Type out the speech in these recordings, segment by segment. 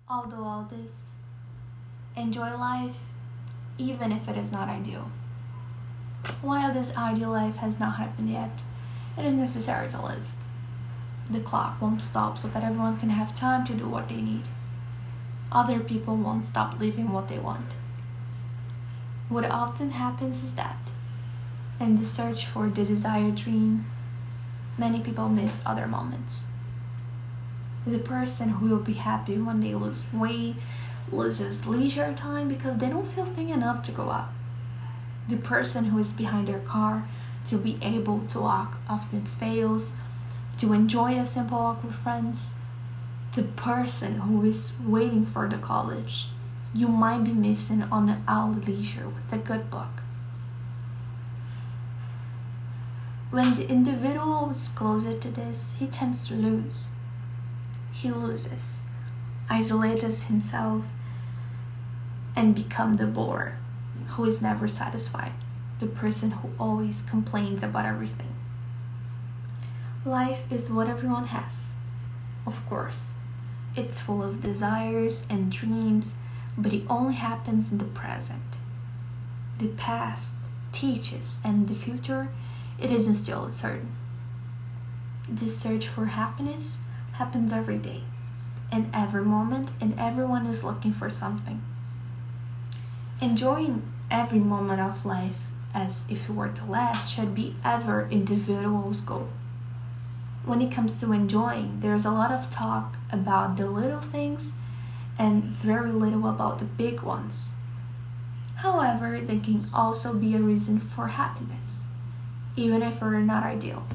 Although all this, enjoy life even if it is not ideal. While this ideal life has not happened yet, it is necessary to live. The clock won't stop so that everyone can have time to do what they need. Other people won't stop living what they want. What often happens is that, in the search for the desired dream, many people miss other moments. The person who will be happy when they lose weight loses leisure time because they don't feel thin enough to go out. The person who is behind their car to be able to walk often fails to enjoy a simple walk with friends. The person who is waiting for the college you might be missing on an hour leisure with a good book. When the individual is closer to this, he tends to lose. He loses, isolates himself, and becomes the bore who is never satisfied, the person who always complains about everything. Life is what everyone has, of course. It's full of desires and dreams, but it only happens in the present. The past teaches, and the future, it isn't still certain. The search for happiness happens every day, in every moment, and everyone is looking for something. Enjoying every moment of life as if it were to last should be every individual's goal. When it comes to enjoying, there's a lot of talk about the little things and very little about the big ones. However, they can also be a reason for happiness, even if they're not ideal.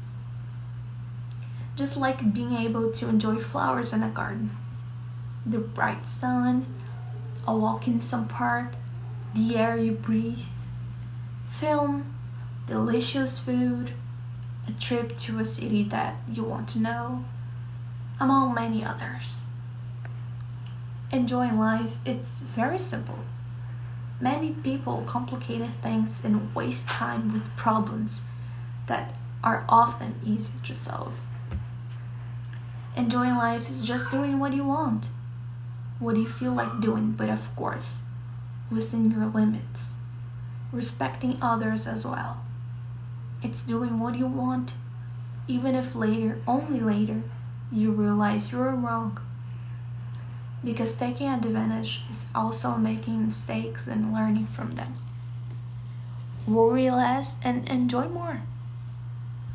Just like being able to enjoy flowers in a garden, the bright sun, a walk in some park, the air you breathe, film, delicious food, a trip to a city that you want to know, among many others. Enjoying life, it's very simple. Many people complicate things and waste time with problems that are often easy to solve. Enjoying life is just doing what you want, what you feel like doing, but of course, within your limits, respecting others as well. It's doing what you want, even if later, only later, you realize you were wrong. Because taking advantage is also making mistakes and learning from them. Worry less and enjoy more.